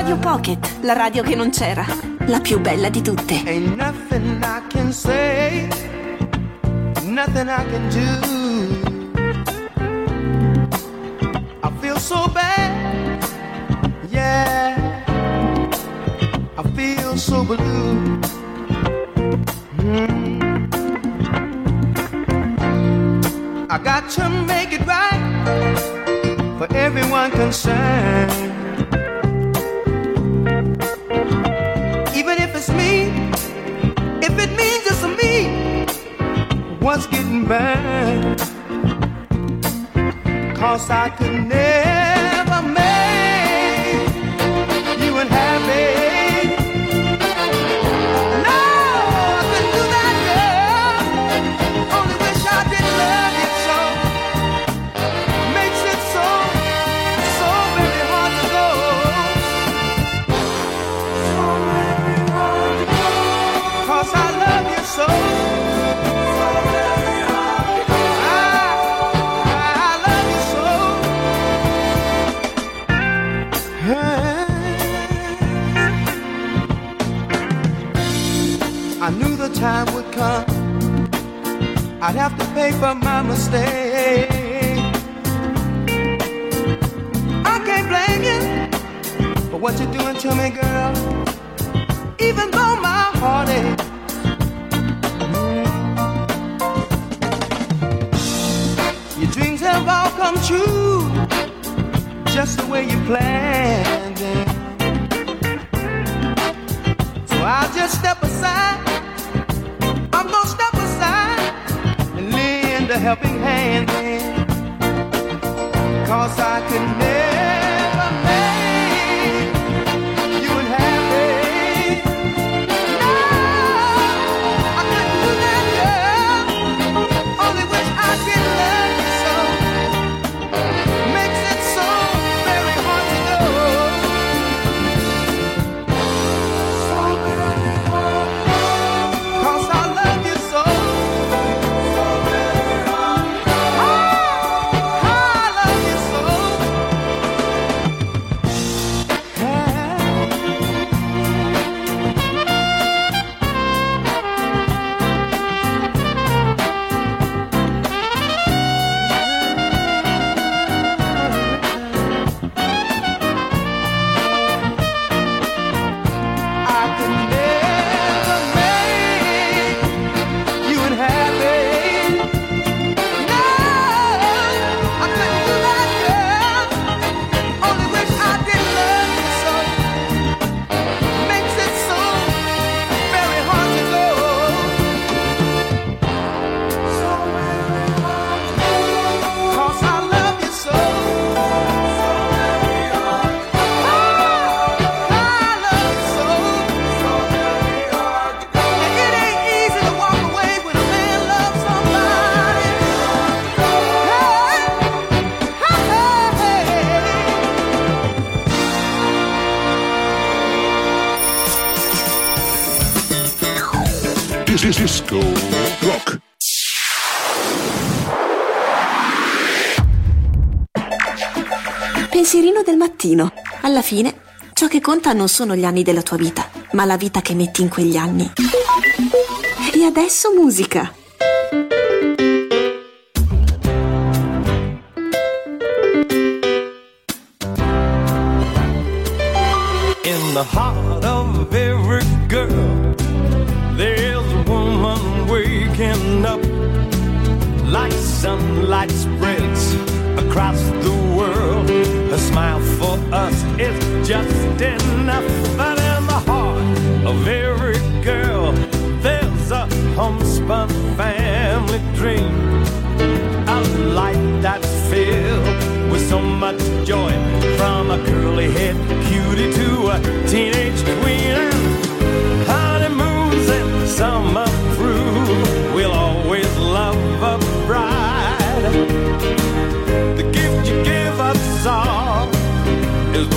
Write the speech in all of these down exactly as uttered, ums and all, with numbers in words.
Radio Pocket, la radio che non c'era, la più bella di tutte. Ain't nothing I can say, nothing I can do. I feel so bad, yeah, I feel so blue. Mm. I got to make it right for everyone concerned. Even if it's me, if it means it's me, what's getting burned? Cause I could never make you unhappy. Time would come, I'd have to pay for my mistake. I can't blame you for what you're doing to me, girl, even though my heart aches. Your dreams have all come true, just the way you planned it. So I'll just step aside, I'm gonna step aside and lend a helping hand in. Cause I could never make you unhappy. No, I couldn't do that, girl. Only wish I could love you so. Makes it so very hard to go. So very hard. Cause I love you so. So very hard. Oh, I love you so. I could never make you unhappy. No, I couldn't do that, girl. Only wish I did love you so. Makes it so very hard to go. So very hard. Cause I love you so. So very hard. Oh, I love you so. So very hard. And it ain't easy to walk away when a man loves somebody. Hey, hey, hey. This is Disco Rock. Pensierino del mattino. Alla fine, ciò che conta non sono gli anni della tua vita, ma la vita che metti in quegli anni. E adesso musica. In the heart of every girl, there's a woman waking up. Like sunlight spreads across the world, her smile for us is just enough. But in the heart of every girl, there's a homespun family dream, a life that's filled with so much joy, from a curly-head cutie to a teenage queen. Honeymoons and summer through, we'll always love a bride. The gift you give us all is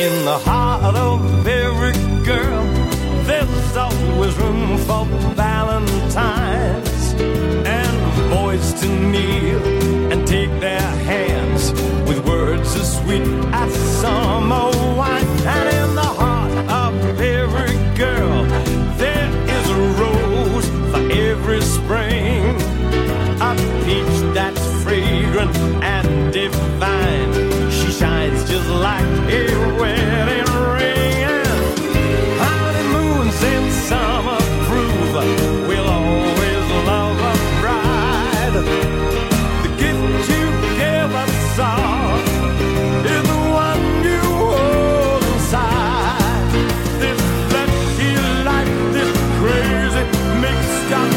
In the heart of every girl, there's always room for valentines and boys to kneel and take their hands with words as sweet as summer wine. And in the heart of every girl, there is a rose for every spring, a peach that's fragrant and divine. She shines just like a wedding ring. And honeymoons in summer prove we'll always love a bride. The gift you give us all is the one you hold inside. This lucky life, this crazy mixed up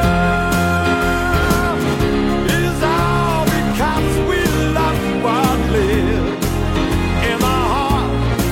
world is all because we love what lives in the heart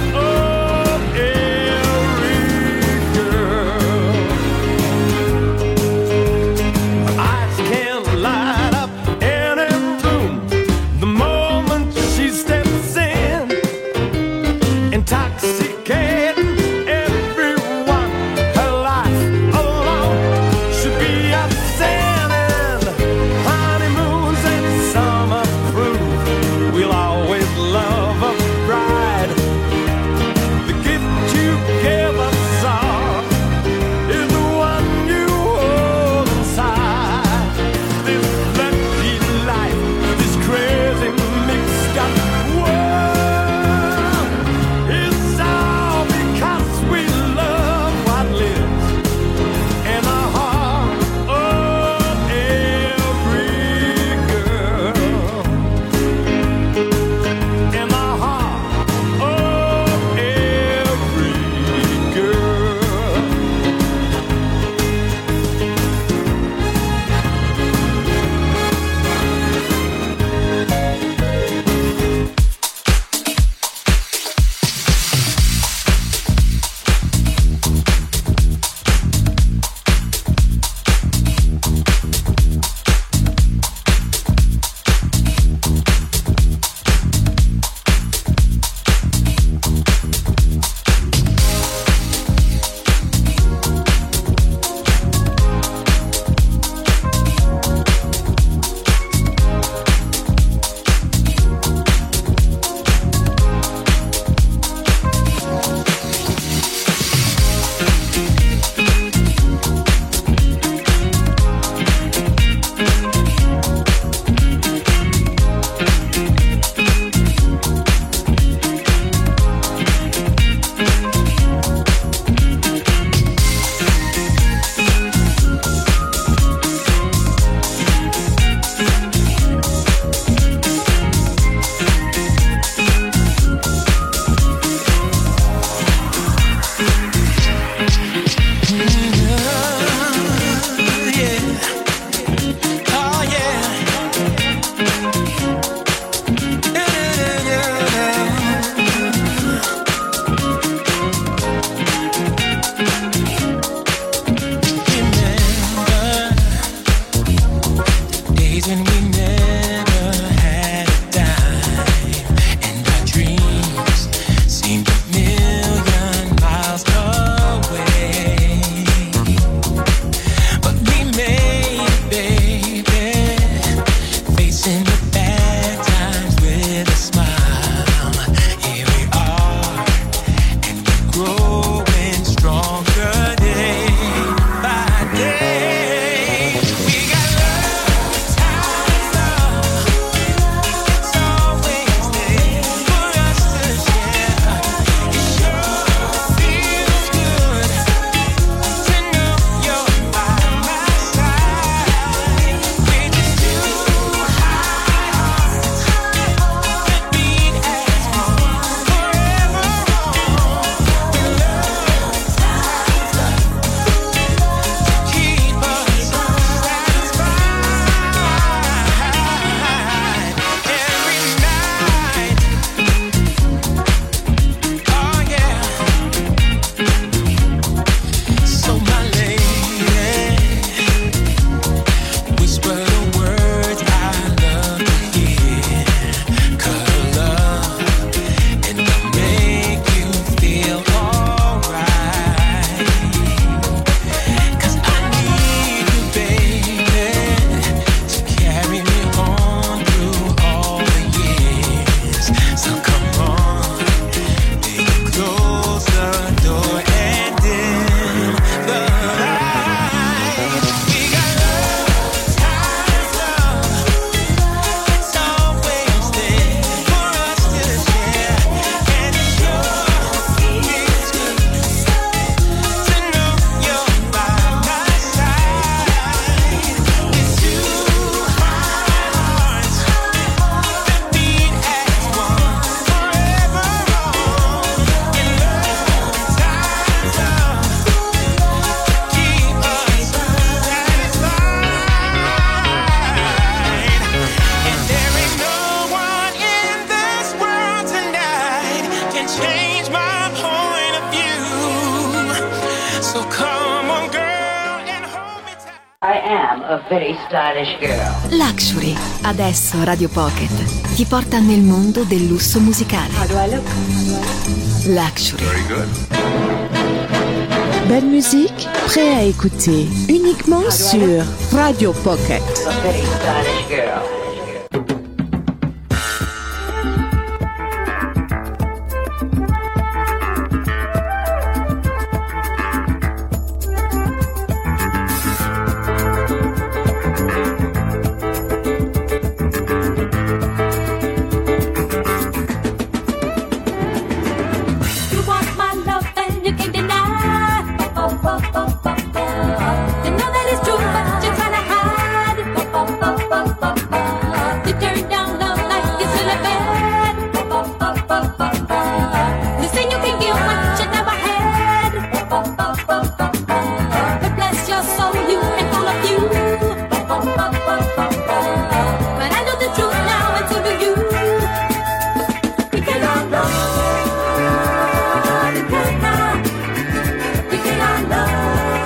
and change my point of view. So come on, girl, and hold me tight. I am a very stylish girl. Luxury, adesso Radio Pocket, ti porta nel mondo del lusso musicale. How do I look? Luxury. Very good. Belle musique, prêt à écouter uniquement sur Radio Pocket. A very stylish girl. You know that it's true, but you're trying to hide. You turn down love like it's really bad. You say you can give what you never had. But bless your soul, you and all of you. But I know the truth now, and so do you. You cannot love. You cannot. You cannot love.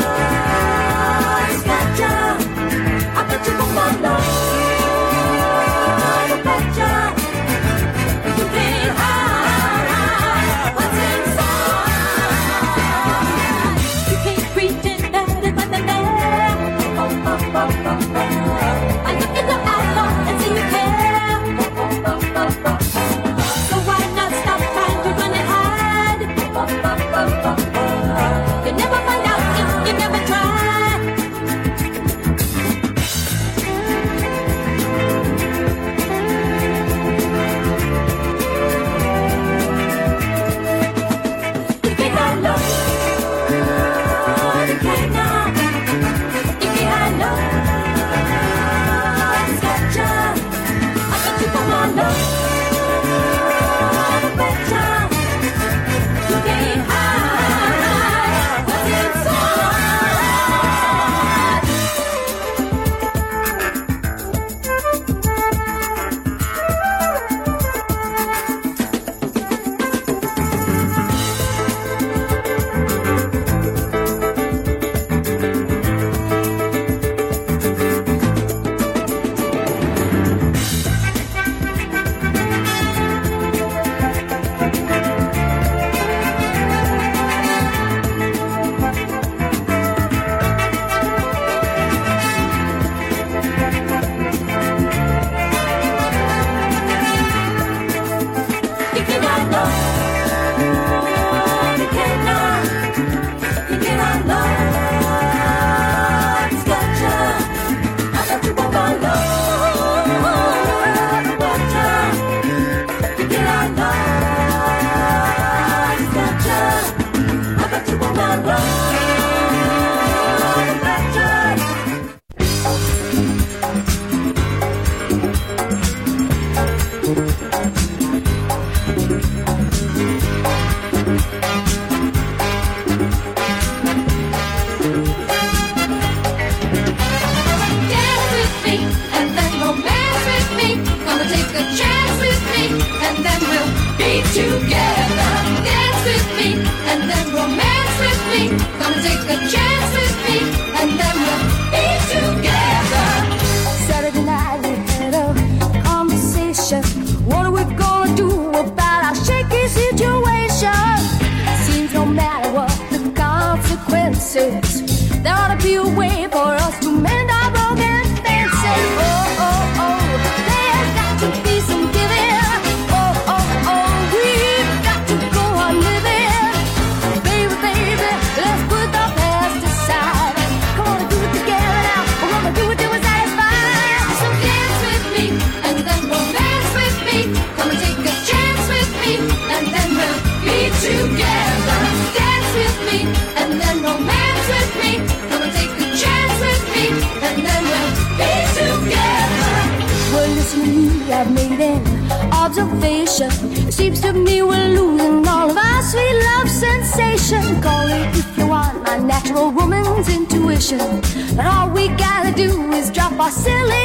There ought to be a way for us to mend our broken fences. Oh, oh, oh, there's got to be some giving. Oh, oh, oh, we've got to go on living. Baby, baby, let's put the past aside. Come on and do it together now. We're gonna do it till we're satisfied. So dance with me, and then romance with me. Come and take a chance with me, and then we'll be together. Dance with me, and then romance with me. Come and take a chance with me, and then we'll be together. Well, listen to me, I've made an observation. It seems to me we're losing all of our sweet love sensation. Call it if you want my natural woman's intuition. And all we gotta do is drop our silly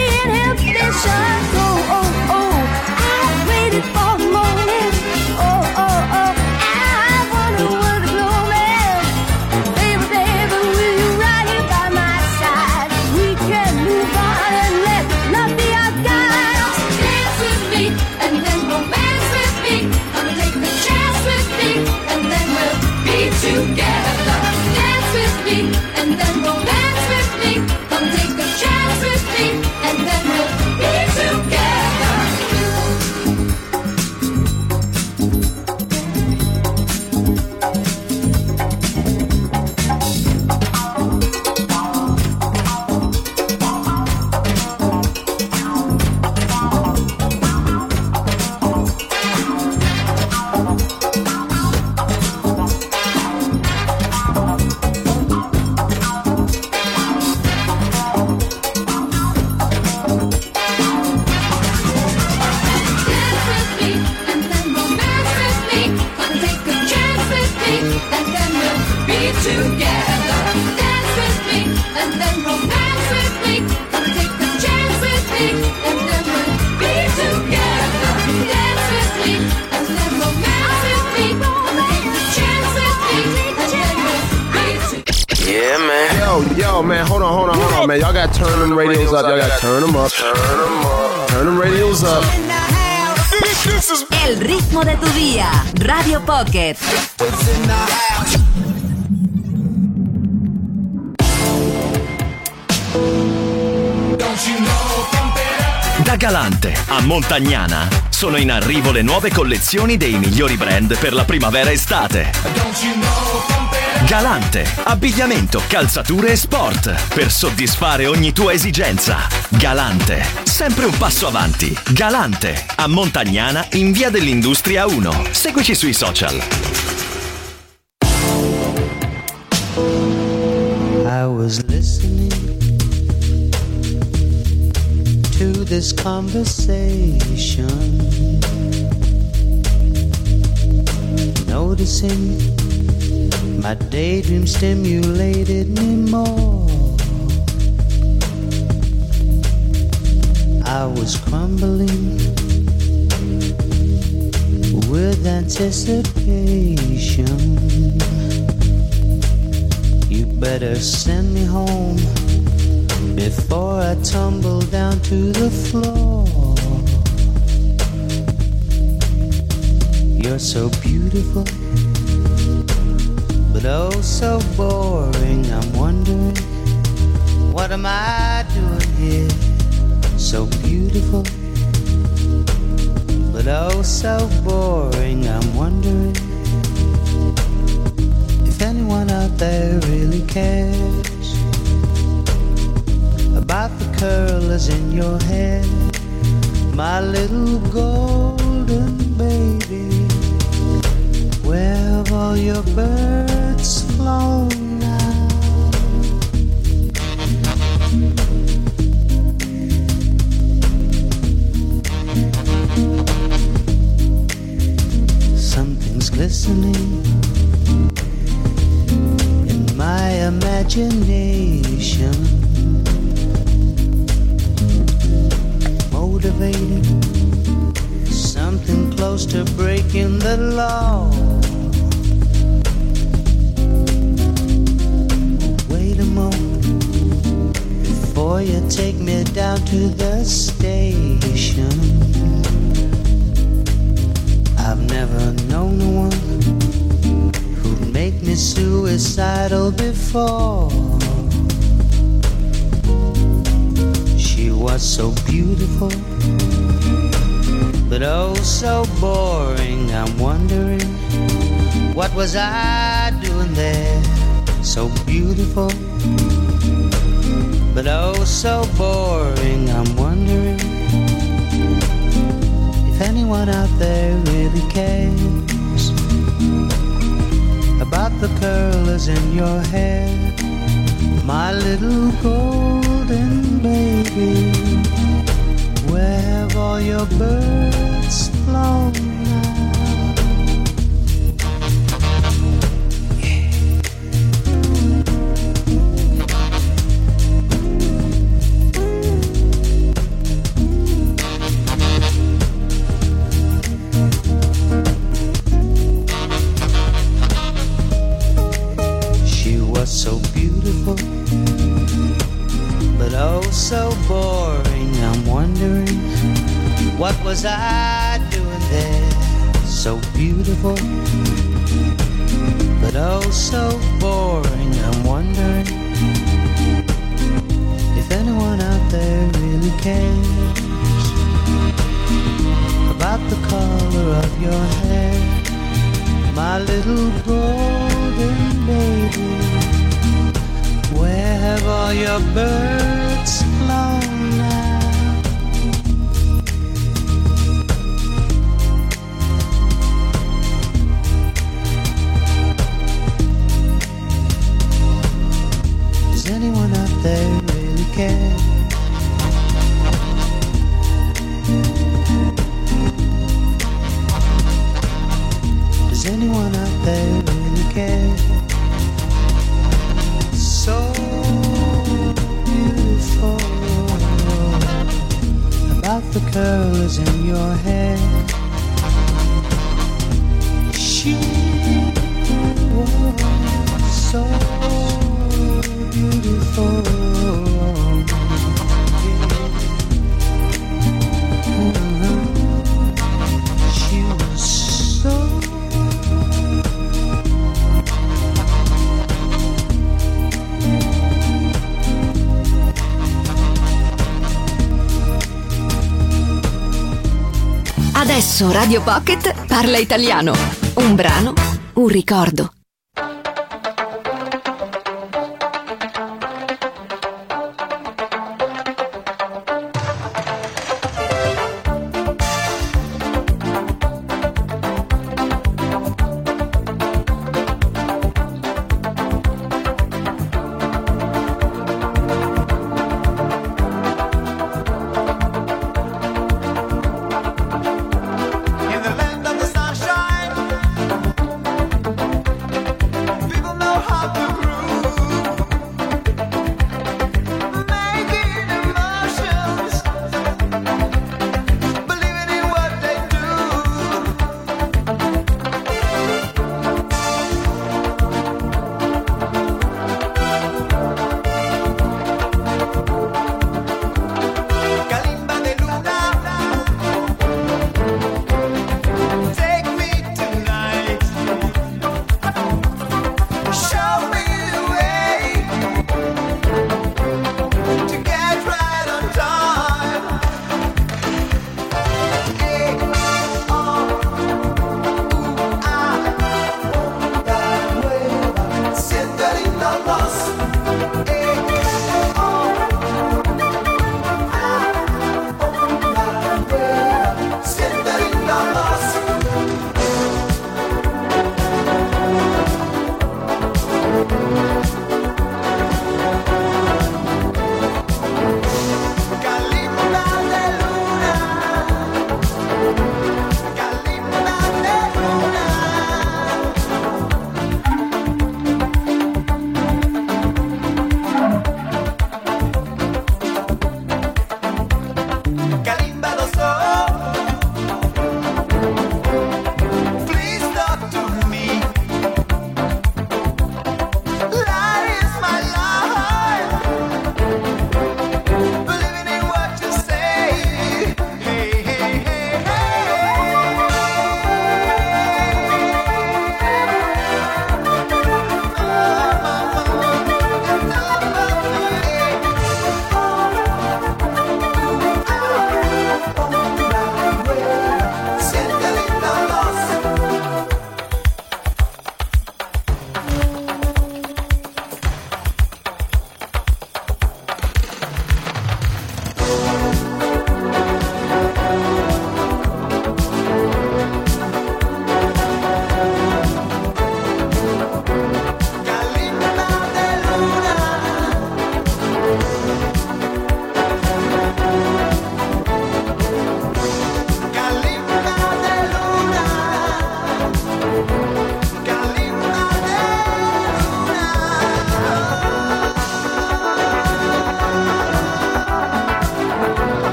inhibitions. Oh, oh, oh, I've waited for the morning. Oh, oh, oh, together. Dance with me and then romance with me. Come take a chance with me and then we'll be together. Yo, man, hold on, hold on, hold on, man. Y'all got to turn them radios up. Y'all got to turn them up. Turn them up. Turn them radios up. El ritmo de tu día. Radio Pocket. Da Galante a Montagnana sono in arrivo le nuove collezioni dei migliori brand per la primavera-estate. Galante, abbigliamento, calzature e sport per soddisfare ogni tua esigenza. Galante, sempre un passo avanti. Galante, a Montagnana in via dell'Industria uno. Seguici sui social. I was listening to this conversation, noticing my daydream stimulated me more. I was crumbling with anticipation. You better send me home before I tumble down to the floor. You're so beautiful, but oh so boring. I'm wondering, what am I doing here? So beautiful, but oh so boring. I'm wondering if anyone out there really cares about the curlers in your hair, my little golden baby. Where have all your birds flown now? Something's glistening in my imagination, motivating something close to breaking the law. Wait a moment before you take me down to the station. I've never known a one who'd make me suicidal before. She was so beautiful, but oh so boring. I'm wondering, what was I doing there? So beautiful, but oh so boring. I'm wondering if anyone out there really cares about the curlers in your hair, my little golden baby. Where have all your birds flown now? She was so beautiful, but oh so boring. I'm wondering, what was I doing there? So beautiful, but oh so boring. I'm wondering if anyone out there really cares about the color of your hair, my little golden lady. Where have all your birds flown now? Does anyone out there really care? Does anyone out there really care? So beautiful about the curls in your hair. She was so beautiful. She was so Adesso Radio Pocket parla italiano. Un brano, un ricordo.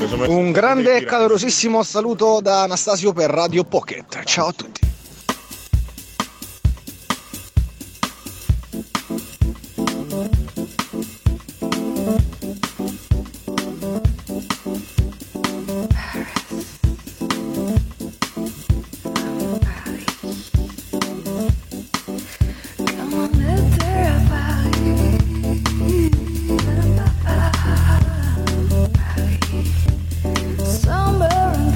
Un grande e calorosissimo saluto da Anastasio per Radio Pocket. Ciao a tutti. Somewhere in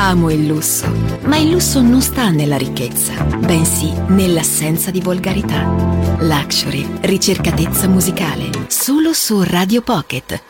Amo il lusso, ma il lusso non sta nella ricchezza, bensì nell'assenza di volgarità. Luxury, ricercatezza musicale, solo su Radio Pocket.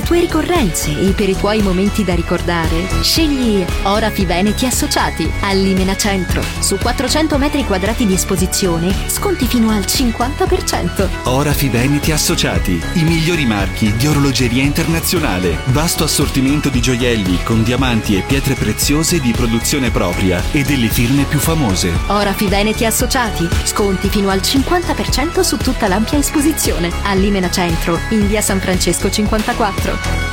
tue ricorrenze e per i tuoi momenti da ricordare, scegli Orafi Veneti Associati a Limena Centro. Su quattrocento metri quadrati di esposizione, sconti fino al cinquanta per cento. Orafi Veneti Associati, i migliori marchi di orologeria internazionale. Vasto assortimento di gioielli con diamanti e pietre preziose di produzione propria e delle firme più famose. Orafi Veneti Associati, sconti fino al cinquanta per cento su tutta l'ampia esposizione a Limena Centro, in via San Francesco cinquantaquattro.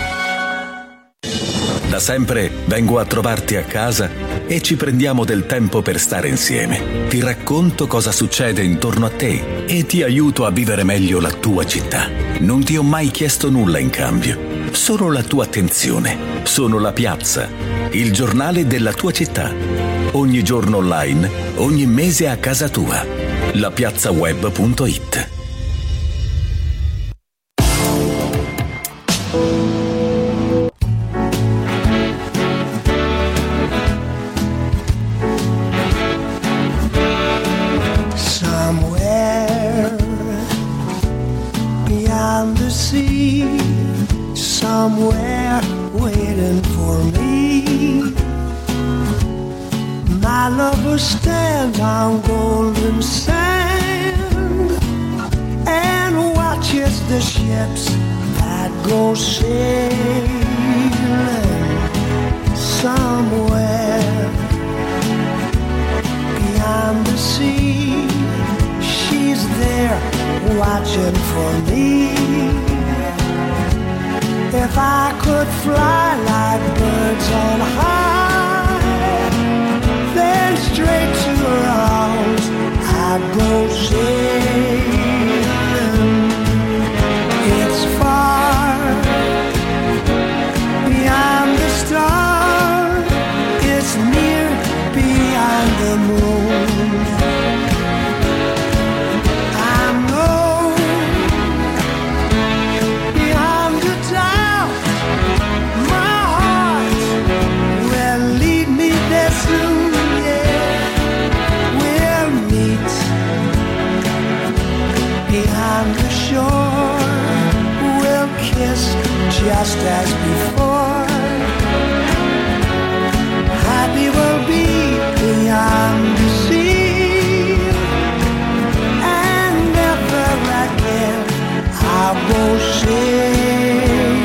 Da sempre vengo a trovarti a casa e ci prendiamo del tempo per stare insieme. Ti racconto cosa succede intorno a te e ti aiuto a vivere meglio la tua città. Non ti ho mai chiesto nulla in cambio, solo la tua attenzione. Sono La Piazza, il giornale della tua città. Ogni giorno online, ogni mese a casa tua. la piazza web punto it. Somewhere beyond the sea, somewhere waiting for me, my lover stands on golden sand and watches the ships that go sailing. Somewhere beyond the sea, she's there watching for me. If I could fly like birds on high, then straight to her arms I'd go sailing. It's far beyond the star, it's near beyond the moon. I know beyond the doubt my heart will lead me there soon. Beyond the shore, we'll kiss just as before. Happy we'll be beyond the sea, and never again I'll go sailing.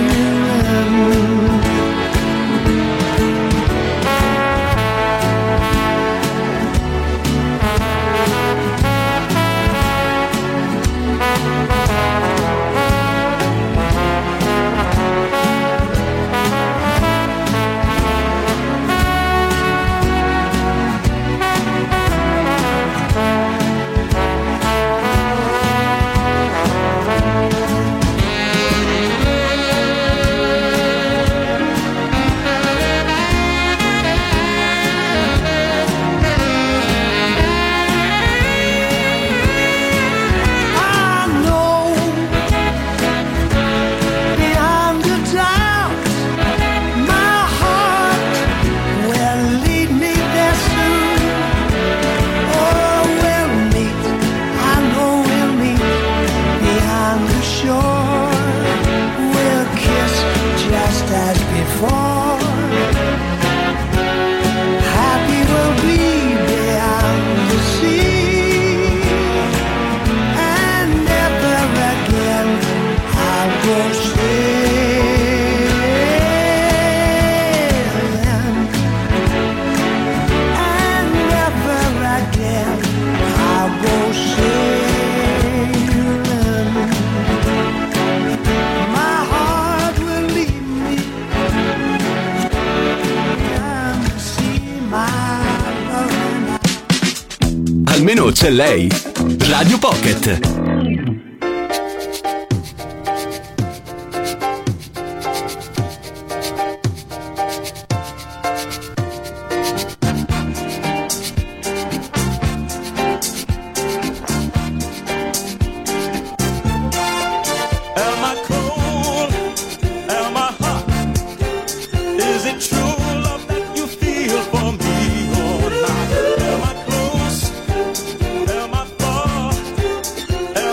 Almeno c'è lei. Radio Pocket. Am I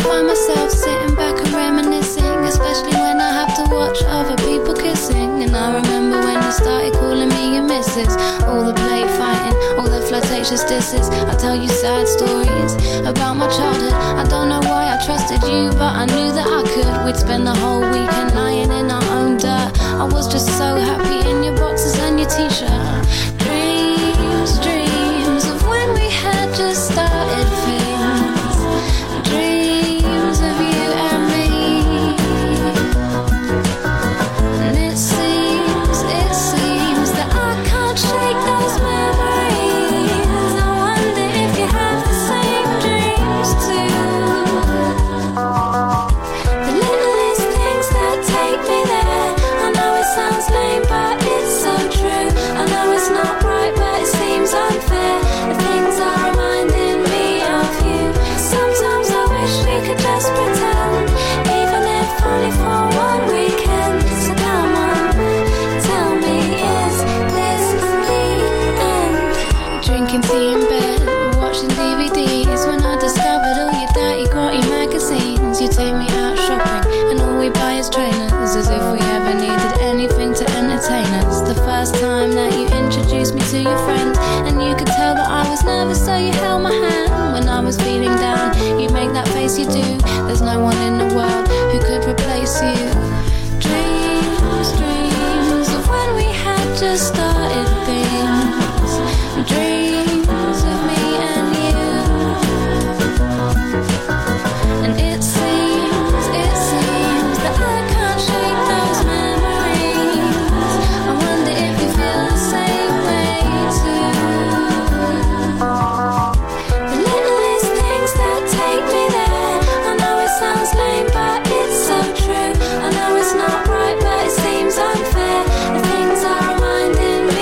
find myself sitting back and reminiscing, especially when I have to watch other people kissing. And I remember when you started calling me your missus, all the play fighting, all the flirtatious disses. I tell you sad stories about my childhood. I don't know why I trusted you, but I knew that I could. We'd spend the whole weekend lying in our own dirt. I was just so happy in your boxes and your t-shirt. Dreams, dreams of when we had just started things. Dreams of you and me. And it seems, it seems that I can't shake those memories. I wonder if you have the same dreams too. The littlest things that take me there. I know it sounds lame, but it's so true. I know it's not right, but it seems unfair. The things are reminding me of you. Sometimes I wish we could just pretend, even if only for one weekend. So come on, tell me, is this the end? Drinking tea in bed, watching D V Ds. When I discovered all your dirty, grotty magazines, you take me out shopping, and all we buy is trainers, as if we ever needed anything to entertain us. The first time that you introduced me to your friends, and you could tell that I was nervous, so you held my hand. When I was feeling down, you make that face you do. There's no one in the world who could replace you. Dreams, dreams of when we had just started things. Dreams of me and you. And it seems, it seems that I can't shake those memories. I wonder if you feel the same way too. The littlest things that take me there. I know it sounds lame, but it's so true. I know it's not right, but it seems unfair. The things are reminding me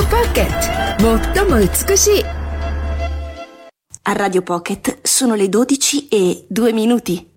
Pocket 最も美しい。 A Radio Pocket sono le dodici e due minuti.